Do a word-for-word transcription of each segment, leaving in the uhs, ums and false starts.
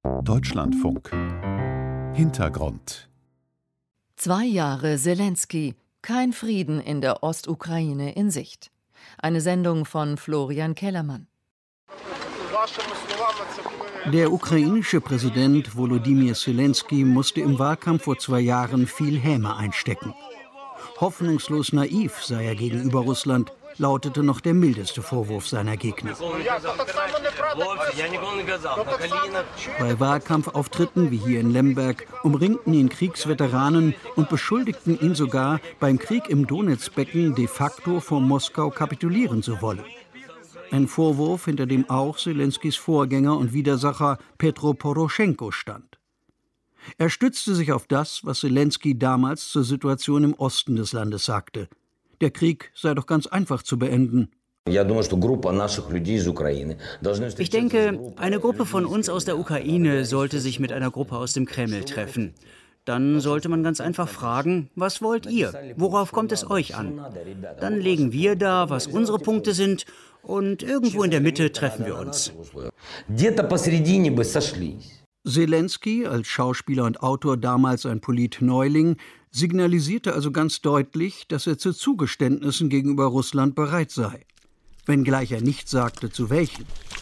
Deutschlandfunk. Hintergrund. Zwei Jahre Selenskyj. Kein Frieden in der Ostukraine in Sicht. Eine Sendung von Florian Kellermann. Der ukrainische Präsident Volodymyr Selenskyj musste im Wahlkampf vor zwei Jahren viel Häme einstecken. Hoffnungslos naiv sei er gegenüber Russland, lautete noch der mildeste Vorwurf seiner Gegner. Bei Wahlkampfauftritten wie hier in Lemberg umringten ihn Kriegsveteranen und beschuldigten ihn sogar, beim Krieg im Donezbecken de facto vor Moskau kapitulieren zu wollen. Ein Vorwurf, hinter dem auch Selenskys Vorgänger und Widersacher Petro Poroschenko stand. Er stützte sich auf das, was Selenskyj damals zur Situation im Osten des Landes sagte. Der Krieg sei doch ganz einfach zu beenden. Ich denke, eine Gruppe von uns aus der Ukraine sollte sich mit einer Gruppe aus dem Kreml treffen. Dann sollte man ganz einfach fragen, was wollt ihr? Worauf kommt es euch an? Dann legen wir dar, was unsere Punkte sind, und irgendwo in der Mitte treffen wir uns. Selenskyj, als Schauspieler und Autor damals ein Politneuling, signalisierte also ganz deutlich, dass er zu Zugeständnissen gegenüber Russland bereit sei. Wenngleich er nicht sagte, zu welchen.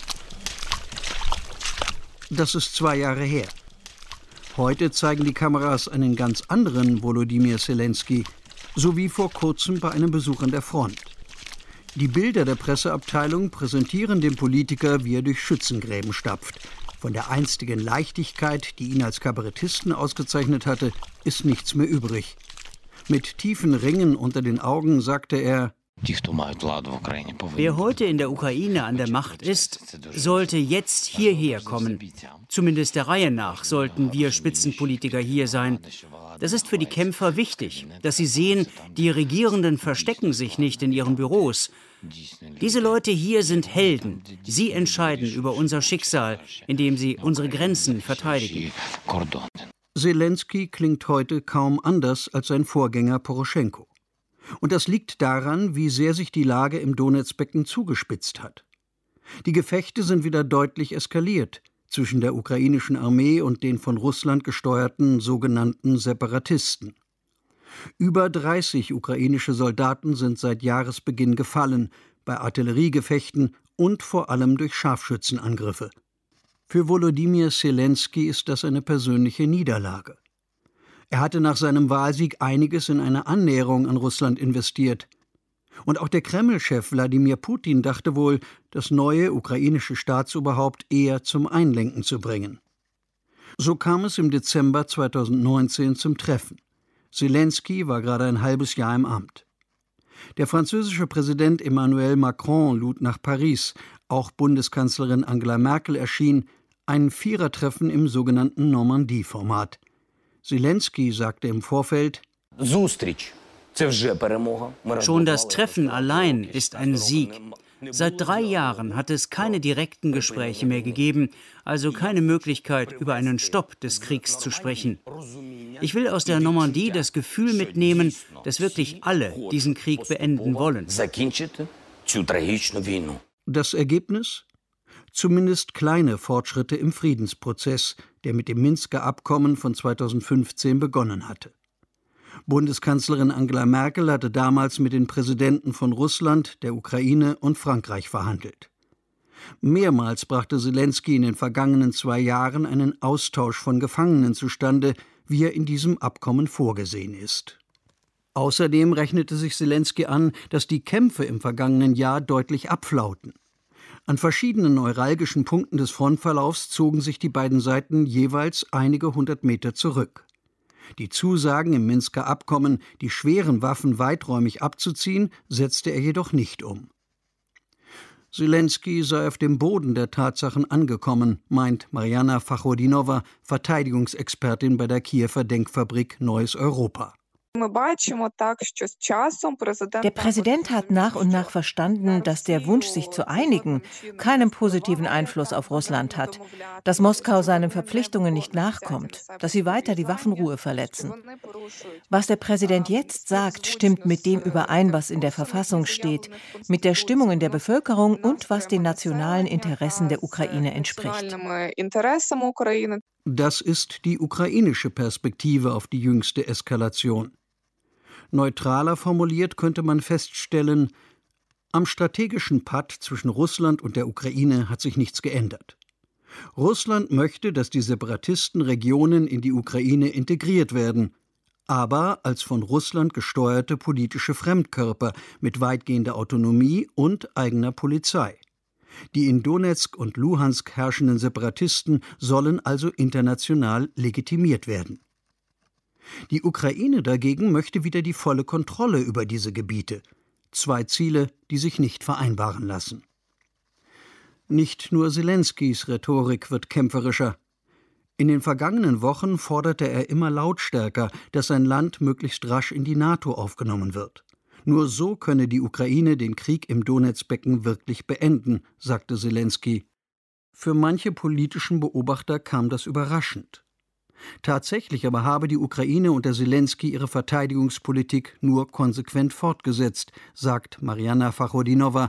Das ist zwei Jahre her. Heute zeigen die Kameras einen ganz anderen Volodymyr Selenskyj, so wie vor kurzem bei einem Besuch an der Front. Die Bilder der Presseabteilung präsentieren den Politiker, wie er durch Schützengräben stapft. Von der einstigen Leichtigkeit, die ihn als Kabarettisten ausgezeichnet hatte, ist nichts mehr übrig. Mit tiefen Ringen unter den Augen sagte er: Wer heute in der Ukraine an der Macht ist, sollte jetzt hierher kommen. Zumindest der Reihe nach sollten wir Spitzenpolitiker hier sein. Das ist für die Kämpfer wichtig, dass sie sehen, die Regierenden verstecken sich nicht in ihren Büros. Diese Leute hier sind Helden. Sie entscheiden über unser Schicksal, indem sie unsere Grenzen verteidigen. Selenskyj klingt heute kaum anders als sein Vorgänger Poroschenko. Und das liegt daran, wie sehr sich die Lage im Donezbecken zugespitzt hat. Die Gefechte sind wieder deutlich eskaliert zwischen der ukrainischen Armee und den von Russland gesteuerten sogenannten Separatisten. Über dreißig ukrainische Soldaten sind seit Jahresbeginn gefallen, bei Artilleriegefechten und vor allem durch Scharfschützenangriffe. Für Volodymyr Selenskyj ist das eine persönliche Niederlage. Er hatte nach seinem Wahlsieg einiges in eine Annäherung an Russland investiert. Und auch der Kreml-Chef Wladimir Putin dachte wohl, das neue ukrainische Staatsoberhaupt eher zum Einlenken zu bringen. So kam es im Dezember zweitausendneunzehn zum Treffen. Selenskyj war gerade ein halbes Jahr im Amt. Der französische Präsident Emmanuel Macron lud nach Paris, auch Bundeskanzlerin Angela Merkel erschien, ein Vierertreffen im sogenannten Normandie-Format. Selenskyj sagte im Vorfeld: Schon das Treffen allein ist ein Sieg. Seit drei Jahren hat es keine direkten Gespräche mehr gegeben, also keine Möglichkeit, über einen Stopp des Kriegs zu sprechen. Ich will aus der Normandie das Gefühl mitnehmen, dass wirklich alle diesen Krieg beenden wollen. Das Ergebnis? Zumindest kleine Fortschritte im Friedensprozess, der mit dem Minsker Abkommen von zweitausendfünfzehn begonnen hatte. Bundeskanzlerin Angela Merkel hatte damals mit den Präsidenten von Russland, der Ukraine und Frankreich verhandelt. Mehrmals brachte Selenskyj in den vergangenen zwei Jahren einen Austausch von Gefangenen zustande, wie er in diesem Abkommen vorgesehen ist. Außerdem rechnete sich Selenskyj an, dass die Kämpfe im vergangenen Jahr deutlich abflauten. An verschiedenen neuralgischen Punkten des Frontverlaufs zogen sich die beiden Seiten jeweils einige hundert Meter zurück. Die Zusagen im Minsker Abkommen, die schweren Waffen weiträumig abzuziehen, setzte er jedoch nicht um. Selenskyj sei auf dem Boden der Tatsachen angekommen, meint Mariana Fachodinova, Verteidigungsexpertin bei der Kiewer Denkfabrik Neues Europa. Der Präsident hat nach und nach verstanden, dass der Wunsch, sich zu einigen, keinen positiven Einfluss auf Russland hat, dass Moskau seinen Verpflichtungen nicht nachkommt, dass sie weiter die Waffenruhe verletzen. Was der Präsident jetzt sagt, stimmt mit dem überein, was in der Verfassung steht, mit der Stimmung in der Bevölkerung und was den nationalen Interessen der Ukraine entspricht. Das ist die ukrainische Perspektive auf die jüngste Eskalation. Neutraler formuliert könnte man feststellen, am strategischen Patt zwischen Russland und der Ukraine hat sich nichts geändert. Russland möchte, dass die Separatisten Regionen in die Ukraine integriert werden, aber als von Russland gesteuerte politische Fremdkörper mit weitgehender Autonomie und eigener Polizei. Die in Donezk und Luhansk herrschenden Separatisten sollen also international legitimiert werden. Die Ukraine dagegen möchte wieder die volle Kontrolle über diese Gebiete. Zwei Ziele, die sich nicht vereinbaren lassen. Nicht nur Selenskys Rhetorik wird kämpferischer. In den vergangenen Wochen forderte er immer lautstärker, dass sein Land möglichst rasch in die NATO aufgenommen wird. Nur so könne die Ukraine den Krieg im Donezbecken wirklich beenden, sagte Selensky. Für manche politischen Beobachter kam das überraschend. Tatsächlich aber habe die Ukraine unter Selensky ihre Verteidigungspolitik nur konsequent fortgesetzt, sagt Marianna Fachodinova.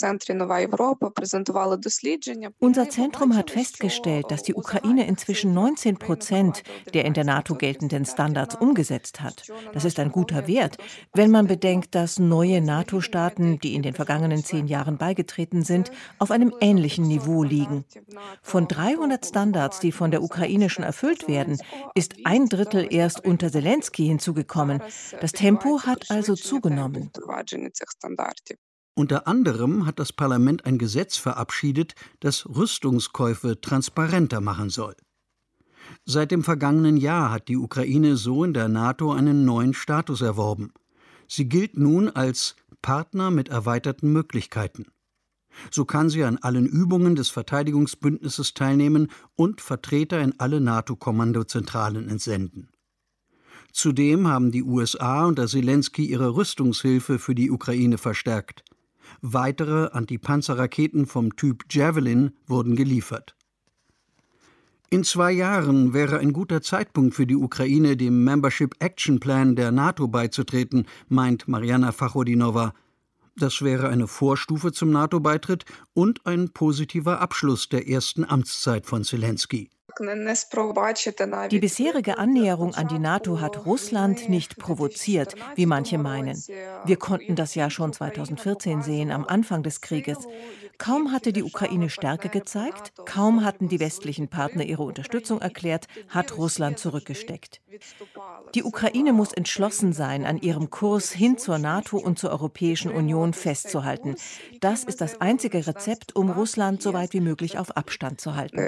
Unser Zentrum hat festgestellt, dass die Ukraine inzwischen neunzehn Prozent der in der NATO geltenden Standards umgesetzt hat. Das ist ein guter Wert, wenn man bedenkt, dass neue NATO-Staaten, die in den vergangenen zehn Jahren beigetreten sind, auf einem ähnlichen Niveau liegen. Von dreihundert Standards, die von der Ukraine schon erfüllt werden, ist ein Drittel erst unter Selensky hinzugekommen. Das Tempo hat also zugenommen. Unter anderem hat das Parlament ein Gesetz verabschiedet, das Rüstungskäufe transparenter machen soll. Seit dem vergangenen Jahr hat die Ukraine so in der NATO einen neuen Status erworben. Sie gilt nun als Partner mit erweiterten Möglichkeiten. So kann sie an allen Übungen des Verteidigungsbündnisses teilnehmen und Vertreter in alle NATO-Kommandozentralen entsenden. Zudem haben die U S A unter Selensky ihre Rüstungshilfe für die Ukraine verstärkt. Weitere Antipanzerraketen vom Typ Javelin wurden geliefert. In zwei Jahren wäre ein guter Zeitpunkt für die Ukraine, dem Membership Action Plan der NATO beizutreten, meint Marianna Fachodinova. Das wäre eine Vorstufe zum NATO-Beitritt und ein positiver Abschluss der ersten Amtszeit von Selensky. Die bisherige Annäherung an die NATO hat Russland nicht provoziert, wie manche meinen. Wir konnten das ja schon zweitausendvierzehn sehen, am Anfang des Krieges. Kaum hatte die Ukraine Stärke gezeigt, kaum hatten die westlichen Partner ihre Unterstützung erklärt, hat Russland zurückgesteckt. Die Ukraine muss entschlossen sein, an ihrem Kurs hin zur NATO und zur Europäischen Union festzuhalten. Das ist das einzige Rezept, um Russland so weit wie möglich auf Abstand zu halten.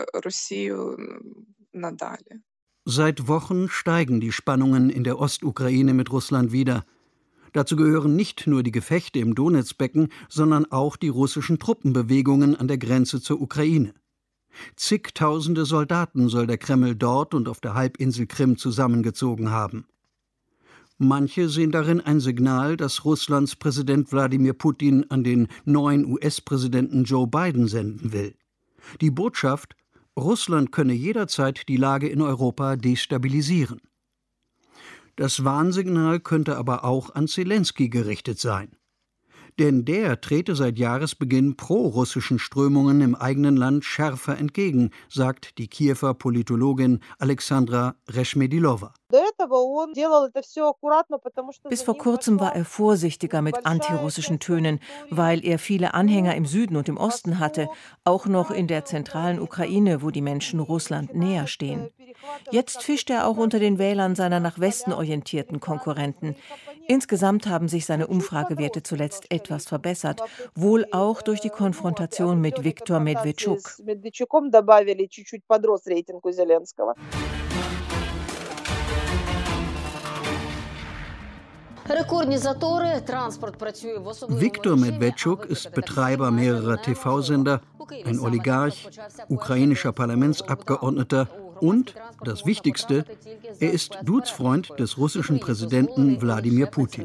Seit Wochen steigen die Spannungen in der Ostukraine mit Russland wieder. Dazu gehören nicht nur die Gefechte im Donezbecken, sondern auch die russischen Truppenbewegungen an der Grenze zur Ukraine. Zigtausende Soldaten soll der Kreml dort und auf der Halbinsel Krim zusammengezogen haben. Manche sehen darin ein Signal, das Russlands Präsident Wladimir Putin an den neuen U S-Präsidenten Joe Biden senden will. Die Botschaft: Russland könne jederzeit die Lage in Europa destabilisieren. Das Warnsignal könnte aber auch an Selensky gerichtet sein. Denn der trete seit Jahresbeginn pro-russischen Strömungen im eigenen Land schärfer entgegen, sagt die Kiewer Politologin Alexandra Reshmedilova. Bis vor kurzem war er vorsichtiger mit antirussischen Tönen, weil er viele Anhänger im Süden und im Osten hatte, auch noch in der zentralen Ukraine, wo die Menschen Russland näher stehen. Jetzt fischt er auch unter den Wählern seiner nach Westen orientierten Konkurrenten. Insgesamt haben sich seine Umfragewerte zuletzt etwas verbessert, wohl auch durch die Konfrontation mit Viktor Medvedchuk. Viktor Medvedchuk ist Betreiber mehrerer T V-Sender, ein Oligarch, ukrainischer Parlamentsabgeordneter Und, das Wichtigste, er ist Dudesfreund des russischen Präsidenten Wladimir Putin.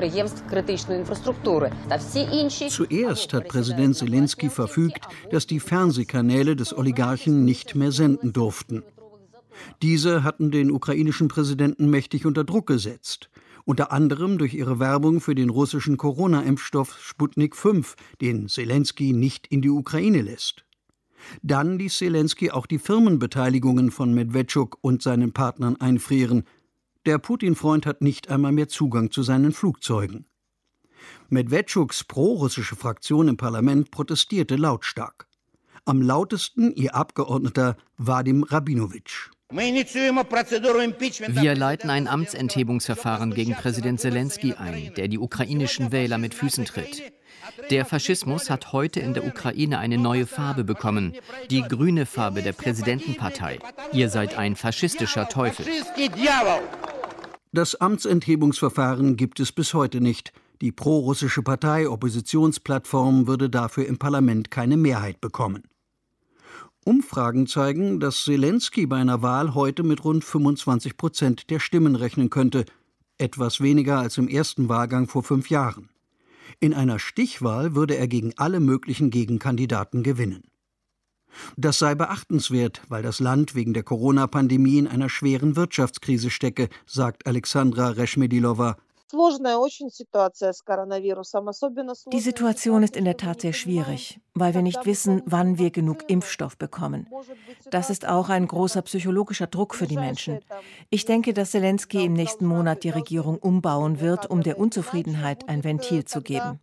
Zuerst hat Präsident Selenskyj verfügt, dass die Fernsehkanäle des Oligarchen nicht mehr senden durften. Diese hatten den ukrainischen Präsidenten mächtig unter Druck gesetzt, unter anderem durch ihre Werbung für den russischen Corona-Impfstoff Sputnik fünf, den Selenskyj nicht in die Ukraine lässt. Dann ließ Selenskyj auch die Firmenbeteiligungen von Medvedchuk und seinen Partnern einfrieren. Der Putin-Freund hat nicht einmal mehr Zugang zu seinen Flugzeugen. Medvedchuks pro-russische Fraktion im Parlament protestierte lautstark. Am lautesten ihr Abgeordneter Vadim Rabinowitsch. Wir leiten ein Amtsenthebungsverfahren gegen Präsident Selenskyj ein, der die ukrainischen Wähler mit Füßen tritt. Der Faschismus hat heute in der Ukraine eine neue Farbe bekommen, die grüne Farbe der Präsidentenpartei. Ihr seid ein faschistischer Teufel. Das Amtsenthebungsverfahren gibt es bis heute nicht. Die pro-russische Partei Oppositionsplattform würde dafür im Parlament keine Mehrheit bekommen. Umfragen zeigen, dass Selenskyj bei einer Wahl heute mit rund fünfundzwanzig Prozent der Stimmen rechnen könnte, etwas weniger als im ersten Wahlgang vor fünf Jahren. In einer Stichwahl würde er gegen alle möglichen Gegenkandidaten gewinnen. Das sei beachtenswert, weil das Land wegen der Corona-Pandemie in einer schweren Wirtschaftskrise stecke, sagt Alexandra Reshmedilova. Die Situation ist in der Tat sehr schwierig, weil wir nicht wissen, wann wir genug Impfstoff bekommen. Das ist auch ein großer psychologischer Druck für die Menschen. Ich denke, dass Selenskyj im nächsten Monat die Regierung umbauen wird, um der Unzufriedenheit ein Ventil zu geben.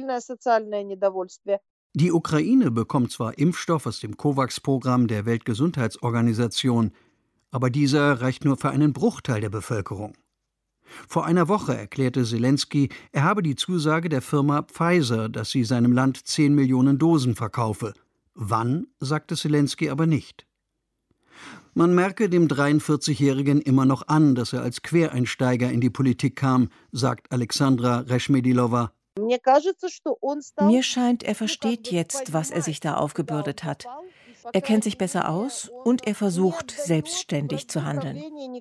Die Ukraine bekommt zwar Impfstoff aus dem COVAX-Programm der Weltgesundheitsorganisation, aber dieser reicht nur für einen Bruchteil der Bevölkerung. Vor einer Woche erklärte Selenskyj, er habe die Zusage der Firma Pfizer, dass sie seinem Land zehn Millionen Dosen verkaufe. Wann, sagte Selenskyj aber nicht. Man merke dem dreiundvierzigjährigen immer noch an, dass er als Quereinsteiger in die Politik kam, sagt Alexandra Reshmedilova. Mir scheint, er versteht jetzt, was er sich da aufgebürdet hat. Er kennt sich besser aus und er versucht, selbstständig zu handeln.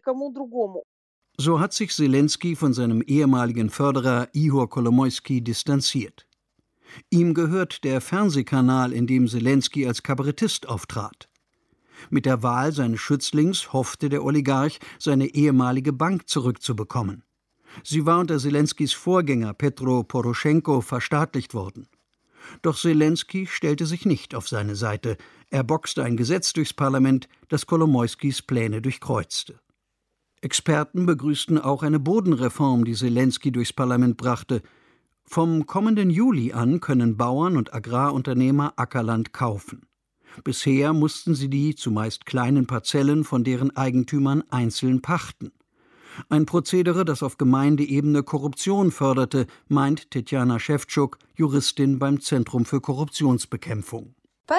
So hat sich Selenskyj von seinem ehemaligen Förderer Ihor Kolomoisky distanziert. Ihm gehört der Fernsehkanal, in dem Selenskyj als Kabarettist auftrat. Mit der Wahl seines Schützlings hoffte der Oligarch, seine ehemalige Bank zurückzubekommen. Sie war unter Selenskyjs Vorgänger Petro Poroschenko verstaatlicht worden. Doch Selenskyj stellte sich nicht auf seine Seite. Er boxte ein Gesetz durchs Parlament, das Kolomoiskys Pläne durchkreuzte. Experten begrüßten auch eine Bodenreform, die Selenskyj durchs Parlament brachte. Vom kommenden Juli an können Bauern und Agrarunternehmer Ackerland kaufen. Bisher mussten sie die zumeist kleinen Parzellen von deren Eigentümern einzeln pachten. Ein Prozedere, das auf Gemeindeebene Korruption förderte, meint Tetjana Schewtschuk, Juristin beim Zentrum für Korruptionsbekämpfung.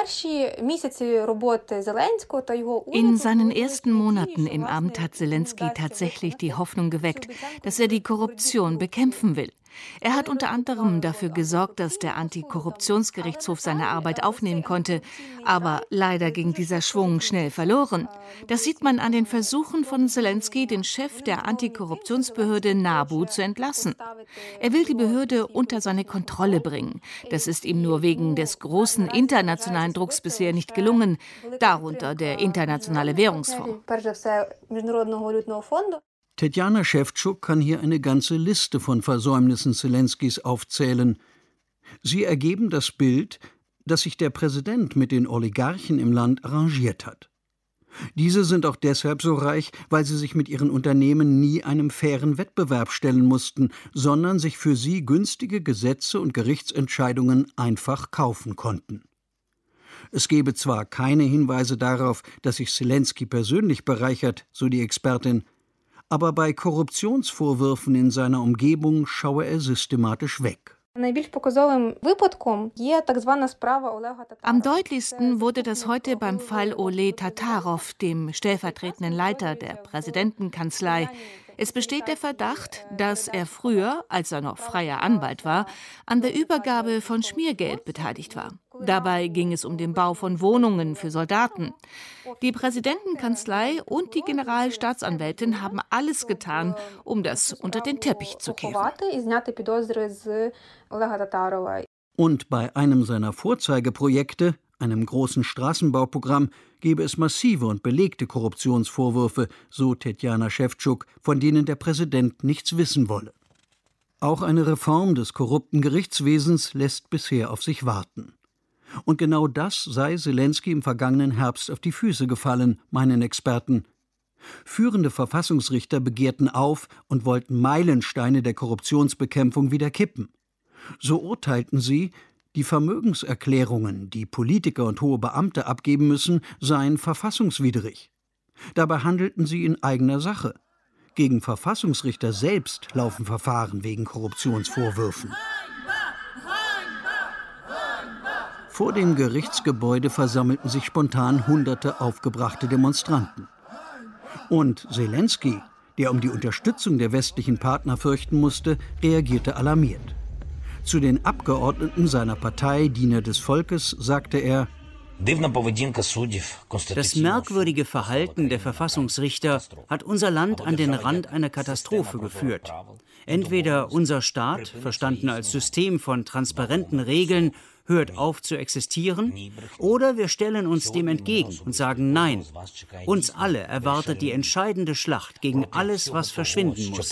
In seinen ersten Monaten im Amt hat Selenskyj tatsächlich die Hoffnung geweckt, dass er die Korruption bekämpfen will. Er hat unter anderem dafür gesorgt, dass der Antikorruptionsgerichtshof seine Arbeit aufnehmen konnte. Aber leider ging dieser Schwung schnell verloren. Das sieht man an den Versuchen von Selenskyj, den Chef der Antikorruptionsbehörde NABU zu entlassen. Er will die Behörde unter seine Kontrolle bringen. Das ist ihm nur wegen des großen internationalen Drucks bisher nicht gelungen, darunter der Internationale Währungsfonds. Tetjana Schewtschuk kann hier eine ganze Liste von Versäumnissen Selenskyjs aufzählen. Sie ergeben das Bild, dass sich der Präsident mit den Oligarchen im Land arrangiert hat. Diese sind auch deshalb so reich, weil sie sich mit ihren Unternehmen nie einem fairen Wettbewerb stellen mussten, sondern sich für sie günstige Gesetze und Gerichtsentscheidungen einfach kaufen konnten. Es gebe zwar keine Hinweise darauf, dass sich Selenskyj persönlich bereichert, so die Expertin, aber bei Korruptionsvorwürfen in seiner Umgebung schaue er systematisch weg. Am deutlichsten wurde das heute beim Fall Ole Tatarow, dem stellvertretenden Leiter der Präsidentenkanzlei. Es besteht der Verdacht, dass er früher, als er noch freier Anwalt war, an der Übergabe von Schmiergeld beteiligt war. Dabei ging es um den Bau von Wohnungen für Soldaten. Die Präsidentenkanzlei und die Generalstaatsanwältin haben alles getan, um das unter den Teppich zu kehren. Und bei einem seiner Vorzeigeprojekte, einem großen Straßenbauprogramm, gebe es massive und belegte Korruptionsvorwürfe, so Tetjana Schewtschuk, von denen der Präsident nichts wissen wolle. Auch eine Reform des korrupten Gerichtswesens lässt bisher auf sich warten. Und genau das sei Zelensky im vergangenen Herbst auf die Füße gefallen, meinen Experten. Führende Verfassungsrichter begehrten auf und wollten Meilensteine der Korruptionsbekämpfung wieder kippen. So urteilten sie, die Vermögenserklärungen, die Politiker und hohe Beamte abgeben müssen, seien verfassungswidrig. Dabei handelten sie in eigener Sache. Gegen Verfassungsrichter selbst laufen Verfahren wegen Korruptionsvorwürfen. Vor dem Gerichtsgebäude versammelten sich spontan hunderte aufgebrachte Demonstranten. Und Zelensky, der um die Unterstützung der westlichen Partner fürchten musste, reagierte alarmiert. Zu den Abgeordneten seiner Partei Diener des Volkes sagte er: Das merkwürdige Verhalten der Verfassungsrichter hat unser Land an den Rand einer Katastrophe geführt. Entweder unser Staat, verstanden als System von transparenten Regeln, hört auf zu existieren, oder wir stellen uns dem entgegen und sagen Nein. Uns alle erwartet die entscheidende Schlacht gegen alles, was verschwinden muss.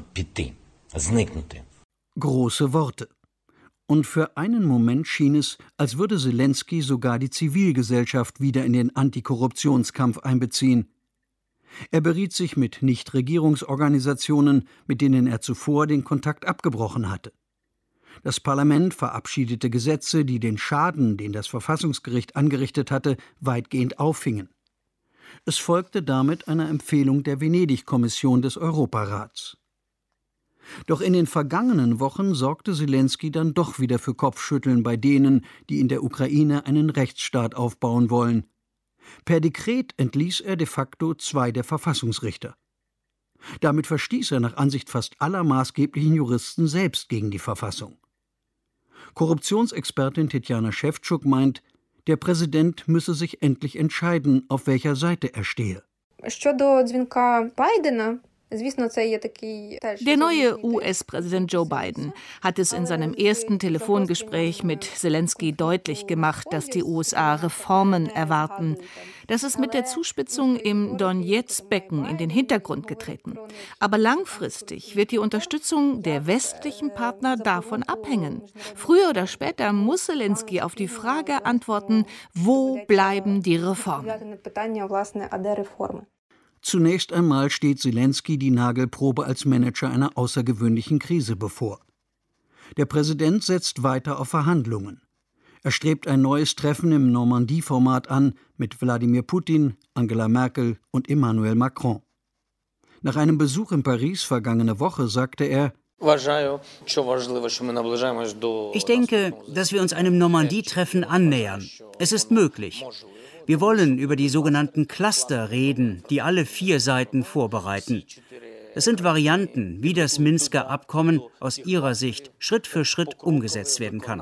Große Worte. Und für einen Moment schien es, als würde Zelensky sogar die Zivilgesellschaft wieder in den Antikorruptionskampf einbeziehen. Er beriet sich mit Nichtregierungsorganisationen, mit denen er zuvor den Kontakt abgebrochen hatte. Das Parlament verabschiedete Gesetze, die den Schaden, den das Verfassungsgericht angerichtet hatte, weitgehend auffingen. Es folgte damit einer Empfehlung der Venedig-Kommission des Europarats. Doch in den vergangenen Wochen sorgte Zelensky dann doch wieder für Kopfschütteln bei denen, die in der Ukraine einen Rechtsstaat aufbauen wollen. Per Dekret entließ er de facto zwei der Verfassungsrichter. Damit verstieß er nach Ansicht fast aller maßgeblichen Juristen selbst gegen die Verfassung. Korruptionsexpertin Tetjana Schewtschuk meint, der Präsident müsse sich endlich entscheiden, auf welcher Seite er stehe. Der neue U S-Präsident Joe Biden hat es in seinem ersten Telefongespräch mit Zelensky deutlich gemacht, dass die U S A Reformen erwarten. Das ist mit der Zuspitzung im Donetsk-Becken in den Hintergrund getreten. Aber langfristig wird die Unterstützung der westlichen Partner davon abhängen. Früher oder später muss Zelensky auf die Frage antworten, wo bleiben die Reformen? Zunächst einmal steht Zelensky die Nagelprobe als Manager einer außergewöhnlichen Krise bevor. Der Präsident setzt weiter auf Verhandlungen. Er strebt ein neues Treffen im Normandie-Format an mit Wladimir Putin, Angela Merkel und Emmanuel Macron. Nach einem Besuch in Paris vergangene Woche sagte er: Ich denke, dass wir uns einem Normandie-Treffen annähern. Es ist möglich. Wir wollen über die sogenannten Cluster reden, die alle vier Seiten vorbereiten. Es sind Varianten, wie das Minsker Abkommen aus ihrer Sicht Schritt für Schritt umgesetzt werden kann.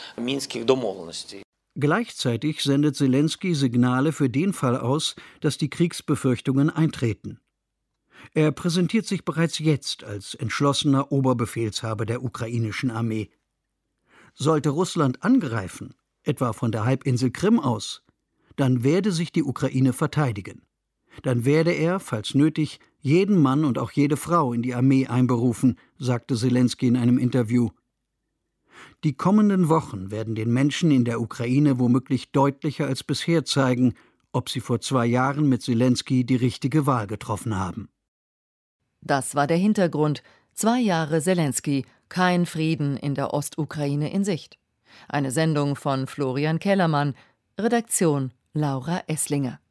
Gleichzeitig sendet Zelensky Signale für den Fall aus, dass die Kriegsbefürchtungen eintreten. Er präsentiert sich bereits jetzt als entschlossener Oberbefehlshaber der ukrainischen Armee. Sollte Russland angreifen, etwa von der Halbinsel Krim aus, dann werde sich die Ukraine verteidigen. Dann werde er, falls nötig, jeden Mann und auch jede Frau in die Armee einberufen, sagte Zelensky in einem Interview. Die kommenden Wochen werden den Menschen in der Ukraine womöglich deutlicher als bisher zeigen, ob sie vor zwei Jahren mit Zelensky die richtige Wahl getroffen haben. Das war der Hintergrund. Zwei Jahre Zelensky, kein Frieden in der Ostukraine in Sicht. Eine Sendung von Florian Kellermann, Redaktion Laura Esslinger.